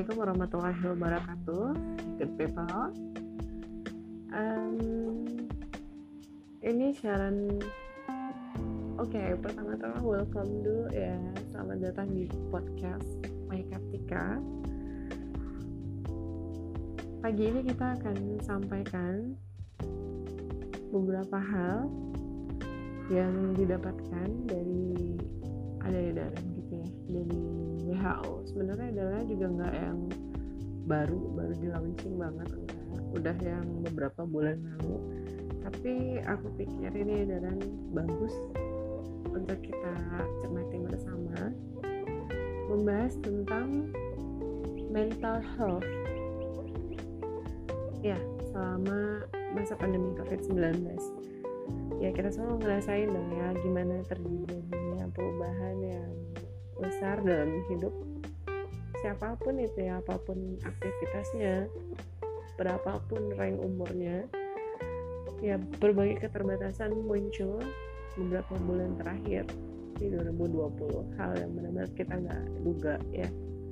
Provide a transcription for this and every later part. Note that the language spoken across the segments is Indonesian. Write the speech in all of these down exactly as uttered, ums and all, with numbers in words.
Assalamualaikum warahmatullahi wabarakatuh. Good people. Um, ini siaran. Oke, okay, pertama-tama welcome dulu ya. Selamat datang di podcast Mai Kartika. Pagi ini kita akan sampaikan beberapa hal yang didapatkan dari ada edaran gitu ya dari W H O. Sebenarnya adalah juga nggak yang baru baru di launching banget, enggak, udah yang beberapa bulan lalu, tapi aku pikir ini edaran bagus untuk kita cermati bersama, membahas tentang mental health ya selama masa pandemi covid sembilan belas. Ya, kita semua ngerasain dong ya gimana terjadinya perubahan yang besar dalam hidup siapapun itu ya, apapun aktivitasnya, berapapun rank umurnya. Ya, berbagai keterbatasan muncul beberapa bulan terakhir di dua ribu dua puluh, hal yang benar-benar kita nggak duga ya.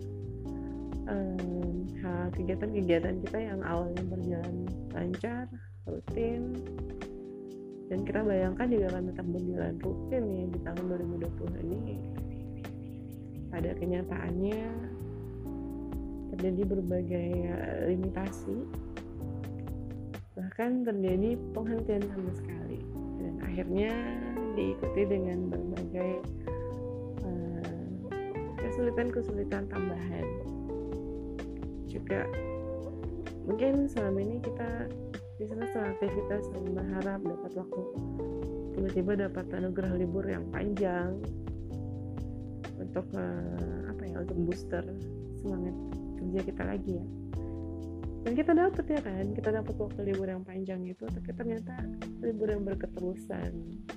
Um, hal kegiatan-kegiatan kita yang awalnya berjalan lancar, rutin, dan kita bayangkan juga akan tetap berjalan rutin nih di tahun dua ribu dua puluh ini, pada kenyataannya terjadi berbagai limitasi, bahkan terjadi penghentian sama sekali, dan akhirnya diikuti dengan berbagai uh, kesulitan-kesulitan tambahan. Juga mungkin selama ini kita di sela-sela aktivitas berharap dapat waktu, tiba-tiba dapat anugerah libur yang panjang untuk uh, apa ya untuk booster semangat kerja kita lagi ya. Dan kita dapat ya kan, kita dapat waktu libur yang panjang itu, tapi ternyata libur yang berketerusan,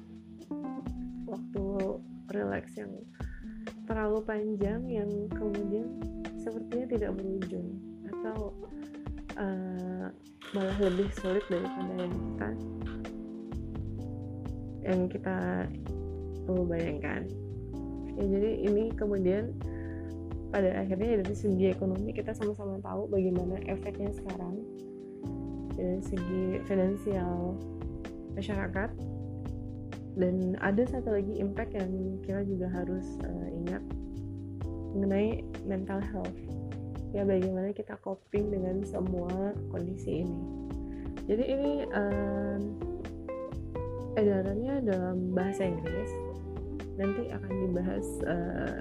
waktu relax yang terlalu panjang yang kemudian sepertinya tidak berujung, atau uh, malah lebih sulit daripada yang kita yang kita uh, bayangkan. Ya, jadi ini kemudian pada akhirnya dari segi ekonomi kita sama-sama tahu bagaimana efeknya sekarang dari segi finansial masyarakat. Dan ada satu lagi impact yang kita juga harus uh, ingat mengenai mental health. Ya, bagaimana kita coping dengan semua kondisi ini. Jadi ini um, edarannya dalam bahasa Inggris, nanti akan dibahas, uh,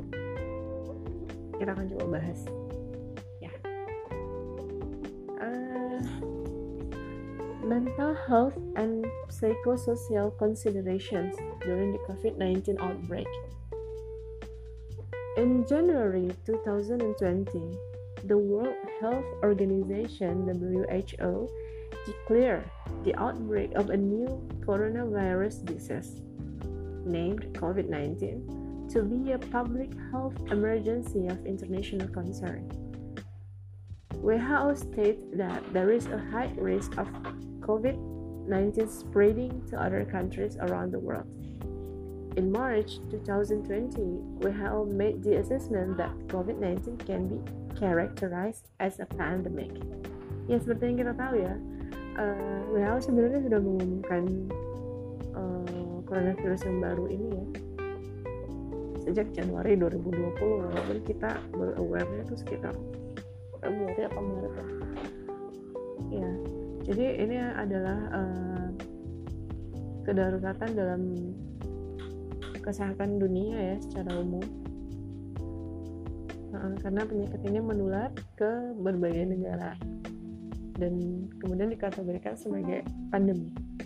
kita akan coba bahas ya. uh, Mental health and psychosocial considerations during the covid nineteen outbreak. In January twenty twenty, the World Health Organization W H O declared the outbreak of a new coronavirus disease named covid nineteen to be a public health emergency of international concern. W H O states that there is a high risk of covid nineteen spreading to other countries around the world. In March twenty twenty, W H O made the assessment that covid nineteen can be characterized as a pandemic. Ya, seperti yang kita tahu ya, uh, W H O sebenarnya sudah mengumumkan uh, coronavirus yang baru ini ya sejak Januari dua ribu dua puluh, walaupun kita baru aware-nya itu sekitar Februari atau Maret ya. Ya, jadi ini adalah uh, kedaruratan dalam kesehatan dunia ya secara umum, uh, karena penyakit ini menular ke berbagai negara dan kemudian dikategorikan sebagai pandemi.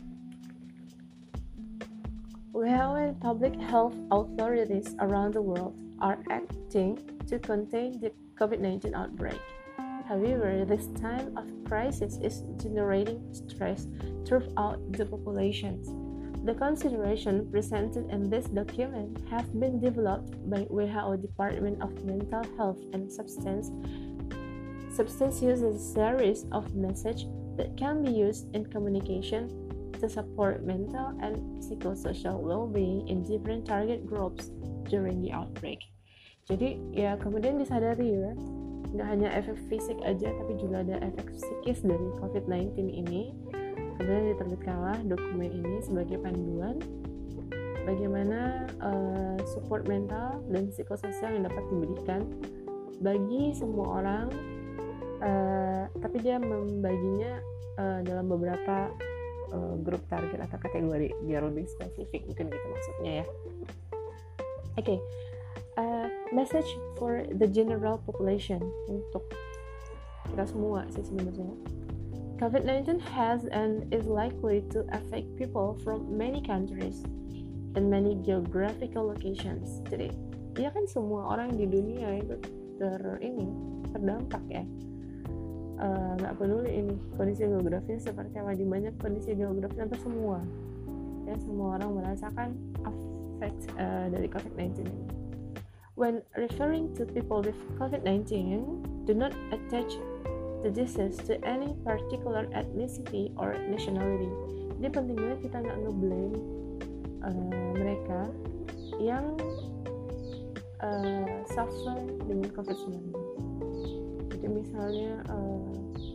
W H O and public health authorities around the world are acting to contain the covid nineteen outbreak. However, this time of crisis is generating stress throughout the populations. The considerations presented in this document have been developed by W H O Department of Mental Health and Substance. Substance uses a series of messages that can be used in communication to support mental and psychosocial well-being in different target groups during the outbreak. Jadi ya kemudian disadari ya nggak hanya efek fisik aja, tapi juga ada efek psikis dari covid sembilan belas ini. Kemudian diterbitkanlah dokumen ini sebagai panduan bagaimana uh, support mental dan psikososial yang dapat diberikan bagi semua orang, uh, tapi dia membaginya uh, dalam beberapa uh, grup target atau kategori biar lebih spesifik, mungkin gitu maksudnya ya. Oke, okay. uh, message for the general population, untuk kita semua sih sebenarnya. covid sembilan belas has and is likely to affect people from many countries and many geographical locations. Jadi, ya kan semua orang di dunia itu ter ini terdampak ya. Nggak uh, peduli ini kondisi geografis seperti apa, di banyak kondisi geografis hampir semua ya semua orang merasakan effect uh, dari covid sembilan belas ini. When referring to people with covid sembilan belas, do not attach the disease to any particular ethnicity or nationality. Jadi penting banget kita nggak nge-blame uh, mereka yang uh, suffer dengan covid sembilan belas. Jadi misalnya uh,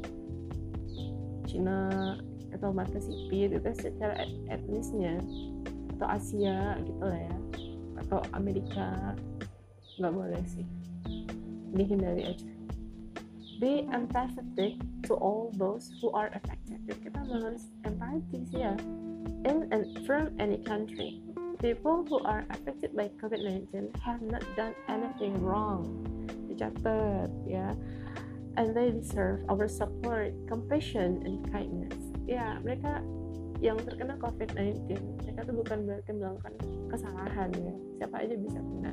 Cina atau mata sipit itu secara et- etnisnya, atau Asia gitu lah ya, atau Amerika, nggak boleh sih, dihindari aja. Be empathetic to all those who are affected. Jadi kita harus empati sih ya. In and from any country, people who are affected by covid sembilan belas have not done anything wrong. Dicatat ya. And they deserve our support, compassion, and kindness. Ya, mereka yang terkena covid sembilan belas, mereka tuh bukan berarti melakukan kesalahan ya. Siapa aja bisa kena.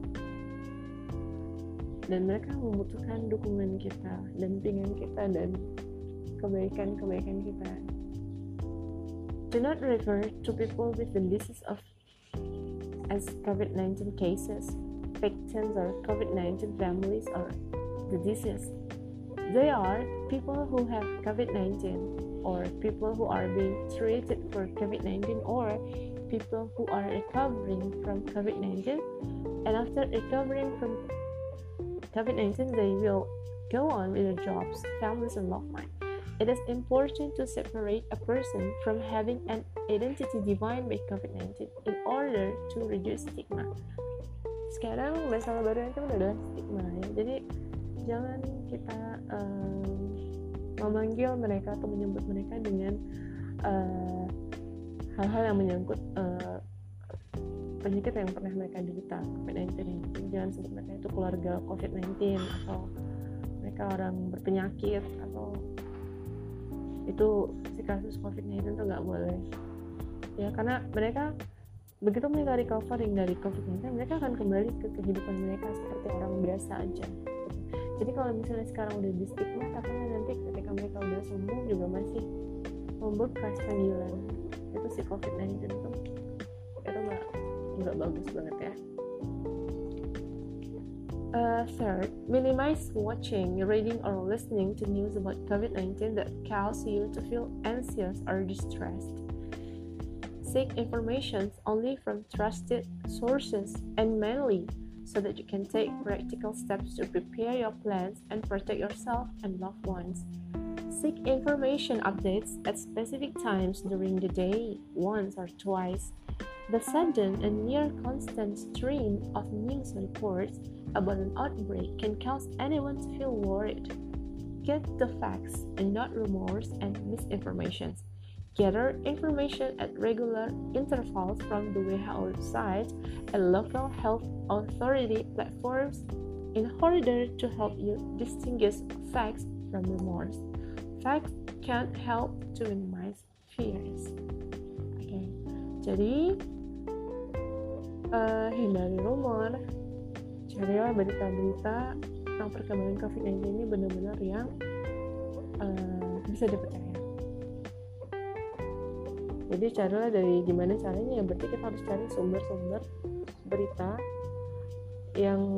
Dan mereka membutuhkan dukungan kita, dampingan kita, dan kebaikan-kebaikan kita. Do not refer to people with the disease of as covid sembilan belas cases, victims, or covid sembilan belas families, or the disease. They are people who have covid sembilan belas, or people who are being treated for covid sembilan belas, or people who are recovering from covid sembilan belas, and after recovering from covid sembilan belas, they will go on with their jobs, families, and loved ones. It is important to separate a person from having an identity defined by covid sembilan belas in order to reduce stigma. Sekarang masalah baru itu udah ada stigma ya. Jadi jangan kita um, memanggil mereka atau menyebut mereka dengan uh, hal-hal yang menyangkut uh, penyakit yang pernah mereka derita covid sembilan belas ini. Jangan sebut mereka itu keluarga covid sembilan belas atau mereka orang berpenyakit atau itu si kasus covid sembilan belas itu nggak boleh ya, karena mereka begitu mereka recovering dari covid sembilan belas mereka akan kembali ke kehidupan mereka seperti orang biasa aja. Jadi kalau misalnya sekarang udah di stigma, takutnya nanti ketika mereka udah sembuh juga masih membekas panggilan itu si covid sembilan belas itu itu nggak nggak bagus banget ya. Uh, third, minimize watching, reading, or listening to news about covid sembilan belas that cause you to feel anxious or distressed. Seek information only from trusted sources and mainly so that you can take practical steps to prepare your plans and protect yourself and loved ones. Seek information updates at specific times during the day, once or twice. The sudden and near constant stream of news reports about an outbreak can cause anyone to feel worried. Get the facts and not rumors and misinformation. Gather information at regular intervals from the W H O website and local health authority platforms in order to help you distinguish facts from rumors. Facts can help to minimize fears. Oke, okay. Jadi uh, hindari rumor, carilah berita-berita tentang perkembangan covid sembilan belas ini benar-benar yang uh, bisa dipercaya. Jadi carilah dari gimana caranya ya, berarti kita harus cari sumber-sumber berita yang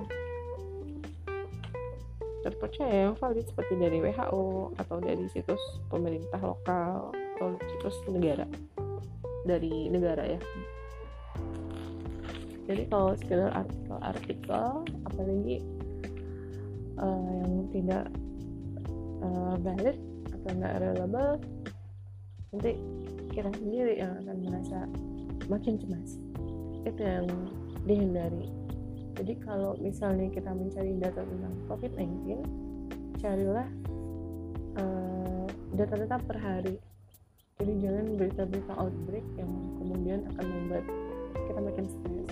terpercaya, yang valid, seperti dari W H O atau dari situs pemerintah lokal atau situs negara, dari negara ya. Jadi kalau sekedar artikel-artikel, apalagi uh, yang tidak uh, valid atau nggak reliable, nanti kita sendiri yang akan merasa makin cemas. Itu yang dihindari. Jadi kalau misalnya kita mencari data tentang covid sembilan belas, carilah uh, data-data per hari. Jadi jangan berita-berita outbreak yang kemudian akan membuat kita makin stres.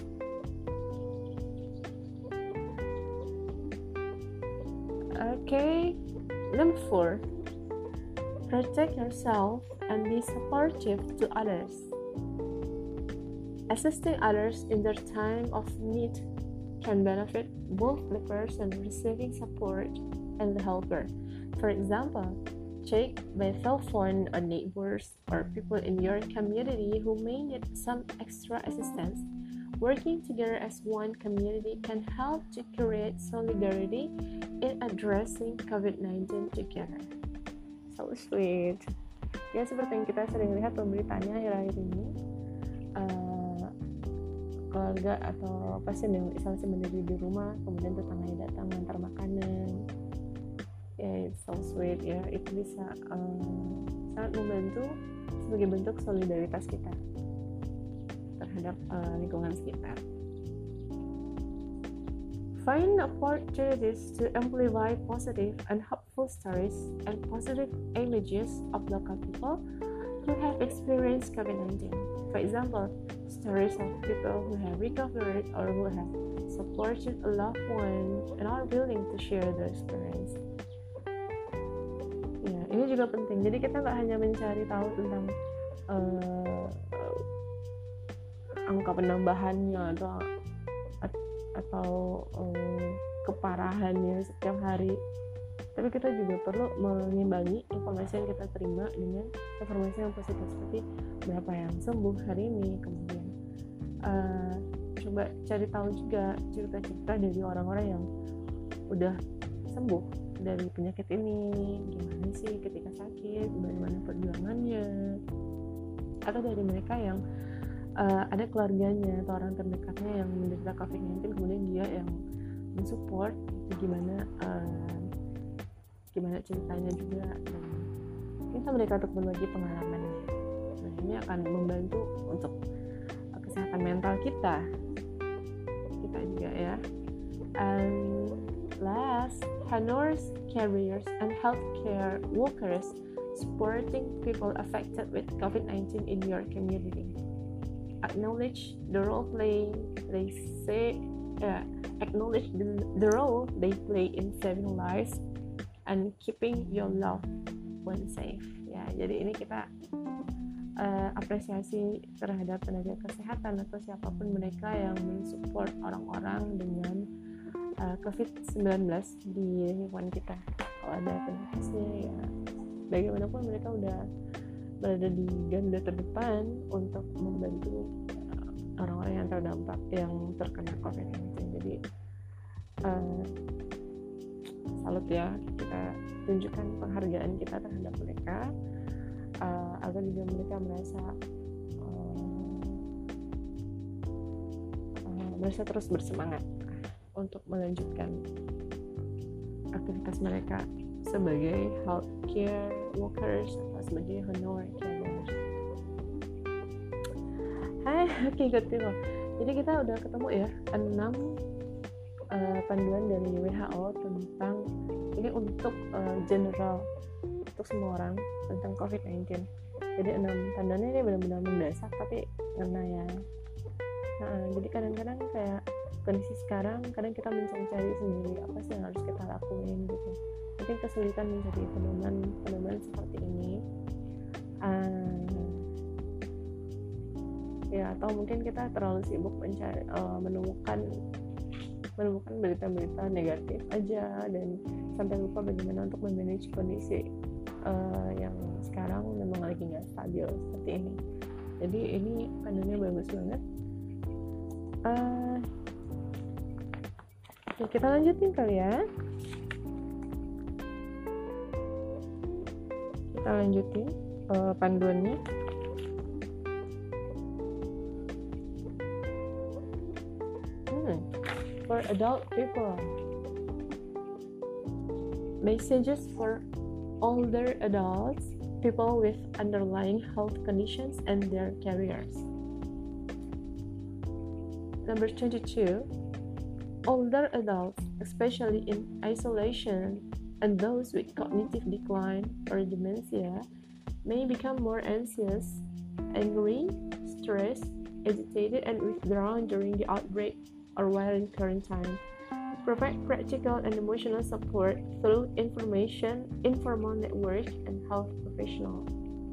Okay, number four, protect yourself and be supportive to others. Assisting others in their time of need can benefit both the person receiving support and the helper. For example, check by telephone on neighbors or people in your community who may need some extra assistance. Working together as one community can help to create solidarity in addressing covid sembilan belas together. So sweet. Ya, seperti yang kita sering lihat pemberitaannya akhir-akhir ini, uh, keluarga atau pasien yang isolasi mandiri di rumah, kemudian tetangganya datang mengantar makanan. Ya, it's so sweet ya. Itu bisa uh, sangat membantu sebagai bentuk solidaritas kita terhadap uh, lingkungan sekitar. Find opportunities to amplify positive and helpful stories and positive images of local people who have experienced covid sembilan belas. For example, stories of people who have recovered or who have supported a loved one and are willing to share their experience. Ya, ini juga penting. Jadi kita nggak hanya mencari tahu tentang uh, angka penambahannya atau atau um, keparahannya setiap hari, tapi kita juga perlu mengimbangi informasi yang kita terima dengan informasi yang positif seperti berapa yang sembuh hari ini. Kemudian uh, coba cari tahu juga cerita-cerita dari orang-orang yang udah sembuh dari penyakit ini, gimana sih ketika sakit, bagaimana perjuangannya, atau dari mereka yang uh, ada keluarganya atau orang terdekatnya yang menderita covid sembilan belas, kemudian dia yang mensupport gimana uh, gimana ceritanya juga, dan kita mereka untuk berbagi pengalamannya. Nah, ini akan membantu untuk uh, kesehatan mental kita kita juga ya. And last, honors carriers and healthcare workers supporting people affected with covid sembilan belas in your community. Acknowledge the role play they say uh, acknowledge the, the role they play in saving lives and keeping your loved one safe. Ya, jadi ini kita uh, apresiasi terhadap tenaga kesehatan atau siapapun mereka yang mensupport orang-orang dengan uh, covid sembilan belas di lingkungan kita. Kalau ada penyakitnya ya, bagaimanapun mereka udah berada di garda terdepan untuk membantu uh, orang-orang yang terdampak, yang terkena covid sembilan belas. Jadi uh, salut ya, kita tunjukkan penghargaan kita terhadap mereka uh, agar juga mereka merasa uh, uh, merasa terus bersemangat untuk melanjutkan aktivitas mereka sebagai healthcare workers atau sebagai honor carriers. Hai, oke okay, good to know. Jadi kita udah ketemu ya enam uh, panduan dari W H O tentang ini untuk uh, general untuk semua orang tentang covid sembilan belas. Jadi enam panduannya ini benar-benar mendasar tapi ngena ya. Nah, jadi kadang-kadang kayak kondisi sekarang kadang kita mencari-cari sendiri apa sih yang harus kita lakuin gitu. Mungkin kesulitan mencari pedoman-pedoman seperti ini. Uh, ya atau mungkin kita terlalu sibuk mencari uh, menemukan menemukan berita-berita negatif aja dan sampai lupa bagaimana untuk memanage kondisi uh, yang sekarang memang lagi nggak stabil seperti ini. Jadi ini panduannya bagus banget. Uh, oke, kita lanjutin kali ya. Kita lanjutin uh, panduannya. Hmm, for adult people, messages for older adults, people with underlying health conditions, and their carriers. Number twenty-two, older adults, especially in isolation, and those with cognitive decline or dementia, may become more anxious, angry, stressed, agitated, and withdrawn during the outbreak or while in quarantine. Provide practical and emotional support through information, informal network, and health professionals.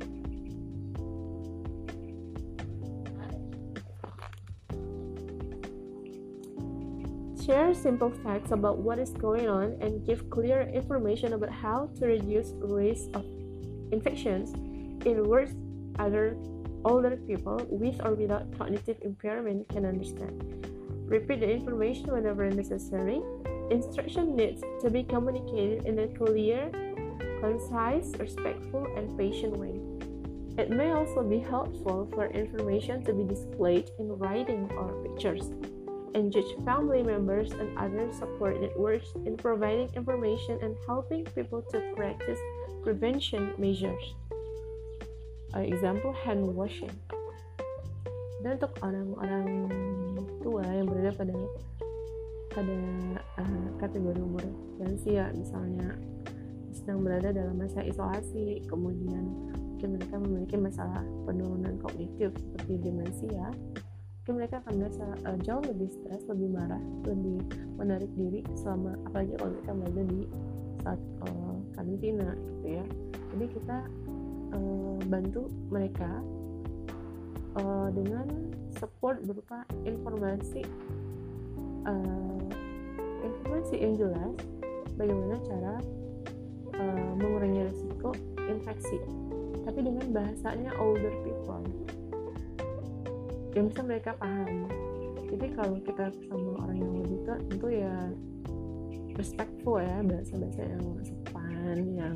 Share simple facts about what is going on and give clear information about how to reduce risk of infections. In words other older people with or without cognitive impairment can understand. Repeat the information whenever necessary. Instruction needs to be communicated in a clear, concise, respectful, and patient way. It may also be helpful for information to be displayed in writing or pictures. Engage family members and other support networks in providing information and helping people to practice prevention measures. Uh, example, hand washing. Dan untuk orang-orang tua yang berada pada pada uh, kategori umur lansia, misalnya sedang berada dalam masa isolasi, kemudian mungkin mereka memiliki masalah penurunan kognitif seperti demensia, mungkin mereka akan merasa uh, jauh lebih stres, lebih marah, lebih menarik diri selama, apalagi kalau mereka berada di saat uh, karantina gitu ya. Jadi kita uh, bantu mereka uh, dengan support berupa informasi uh, informasi yang jelas bagaimana cara uh, mengurangi risiko infeksi, tapi dengan bahasanya older people yang bisa mereka pahami. Jadi kalau kita sama orang yang lebih tua, tentu ya respectful ya, bahasa-bahasa yang sopan, yang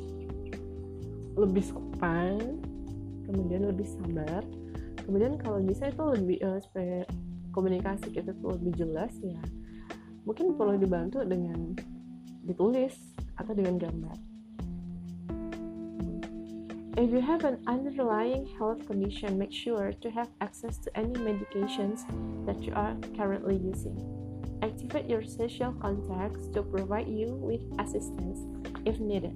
lebih sopan, kemudian lebih sabar. Kemudian kalau bisa itu lebih uh, supaya komunikasi kita tuh lebih jelas ya, mungkin perlu dibantu dengan ditulis atau dengan gambar. If you have an underlying health condition, make sure to have access to any medications that you are currently using. Activate your social contacts to provide you with assistance if needed.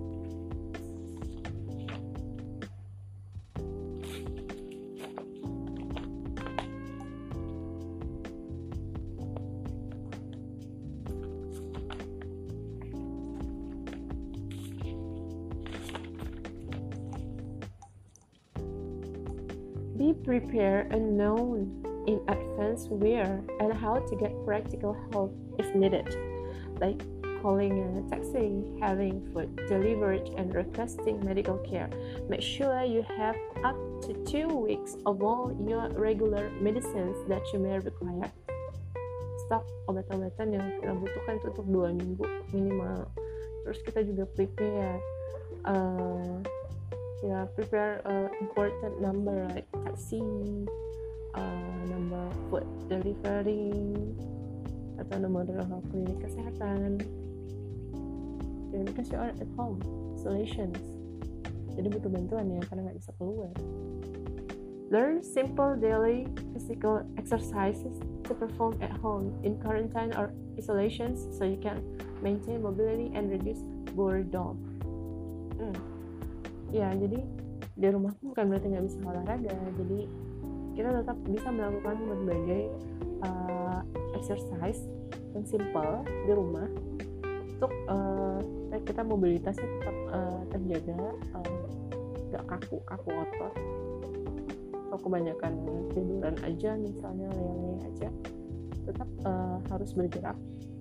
Be prepared and known in advance where and how to get practical help if needed, like calling a taxi, having food delivered, and requesting medical care. Make sure you have up to two weeks of all your regular medicines that you may require. Stok obat-obatan yang kita butuhkan itu untuk dua minggu minimal. Terus kita juga prepare uh, ya yeah, prepare uh, important number like taxi, uh, number food delivery, atau nomor uh, klinik kesehatan. Dan because you are at home, isolations, jadi butuh bantuan ya karena nggak bisa keluar. Learn simple daily physical exercises to perform at home in quarantine or isolations so you can maintain mobility and reduce boredom. Hmm. Ya, jadi di rumah pun bukan berarti nggak bisa olahraga. Jadi kita tetap bisa melakukan berbagai uh, exercise yang simple di rumah untuk uh, kita mobilitasnya tetap uh, terjaga, nggak uh, kaku-kaku otot. Kalau kebanyakan tiduran aja, misalnya lele aja, tetap uh, harus bergerak.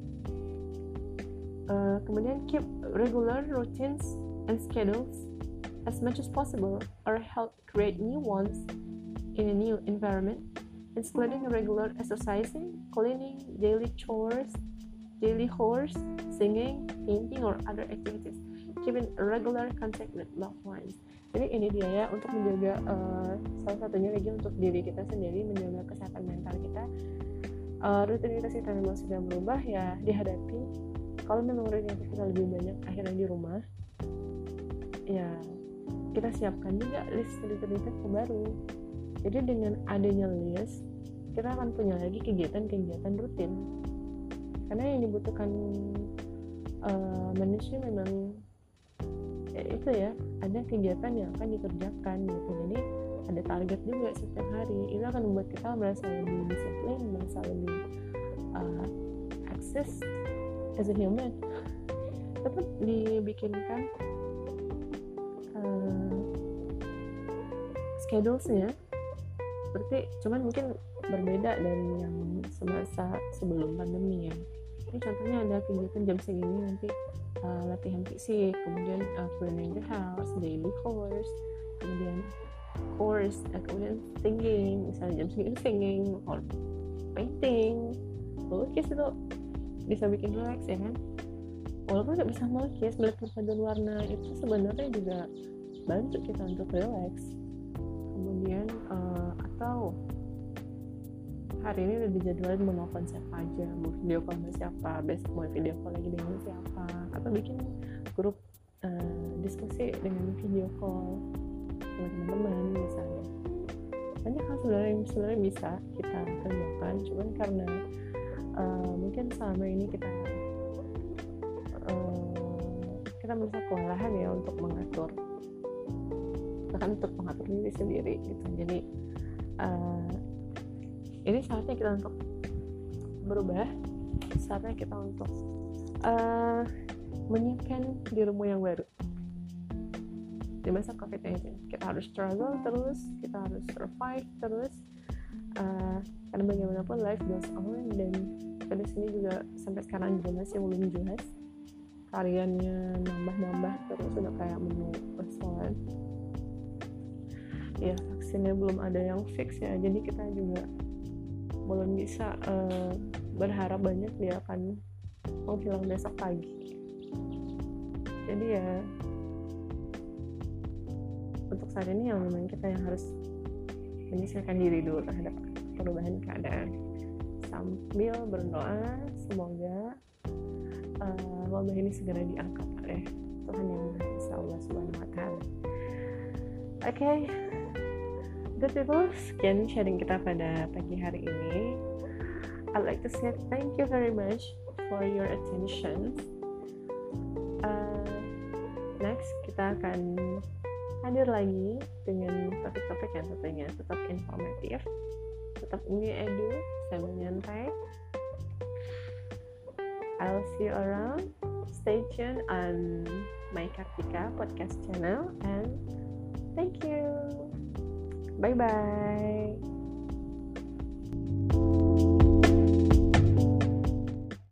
Uh, kemudian keep regular routines and schedules as much as possible, or help create new ones in a new environment, including regular exercising, cleaning, daily chores, daily chores, singing, painting, or other activities. Keeping regular contact with loved ones. Jadi ini dia ya, untuk menjaga uh, salah satunya lagi untuk diri kita sendiri, menjaga kesehatan mental kita. Uh, rutinitas kita memang sudah berubah ya, dihadapi. kalau memang rutinitas kita lebih banyak akhirnya di rumah, ya kita siapkan juga list rutinitas baru. Jadi dengan adanya list, kita akan punya lagi kegiatan-kegiatan rutin. Karena yang dibutuhkan uh, manusia memang ya itu ya, ada kegiatan yang akan dikerjakan gitu. Jadi ada target juga setiap hari. Itu akan membuat kita merasa lebih disiplin, merasa lebih uh, access as a human. Tetap dibikinkan uh, schedules-nya seperti, cuman mungkin berbeda dari yang semasa sebelum pandemi ya. Ini contohnya ada kegiatan jam segini nanti uh, latihan fisik, kemudian uh, cleaning the house, daily course, kemudian course, uh, kemudian singing, misalnya jam segini singing, or painting, melukis itu bisa bikin relax ya kan. Walaupun nggak bisa melukis, melihat perpaduan warna itu sebenarnya juga bantu kita untuk relax. Kemudian uh, atau hari ini udah dijadwalin mau nelfon siapa aja, mau video call sama siapa, besok mau video call lagi dengan siapa, atau bikin grup uh, diskusi dengan video call sama teman-teman misalnya. Banyak hal sebenarnya yang sebenarnya bisa kita kerjakan, cuman karena uh, mungkin selama ini kita uh, kita merasa kewalahan ya untuk mengatur, bahkan untuk mengatur diri sendiri gitu. Jadi uh, ini saatnya kita untuk berubah, saatnya kita untuk uh, menyiapkan dirimu yang baru di masa covid sembilan belas. Kita harus struggle terus, kita harus survive terus, uh, karena bagaimanapun life goes on, dan pada sini juga sampai sekarang juga masih belum jelas, variannya nambah-nambah terus, udah kayak menu restoran ya, vaksinnya belum ada yang fix ya, jadi kita juga belum bisa uh, berharap banyak dia akan menghilang besok pagi. Jadi ya untuk saat ini yang memang kita yang harus menyesuaikan diri dulu terhadap perubahan keadaan, sambil berdoa semoga uh, wabah ini segera diangkat oleh Tuhan yang Maha Esa, Allah Subhanahu Wa Taala. Oke. Okay. Good people, sekian sharing kita pada pagi hari ini. I'd like to say thank you very much for your attention. Uh, next, kita akan hadir lagi dengan topik-topik yang tentunya tetap informatif, tetap ini edu, sambil nyantai. I'll see you around. Stay tuned on my Kartika podcast channel, and thank you. Bye bye.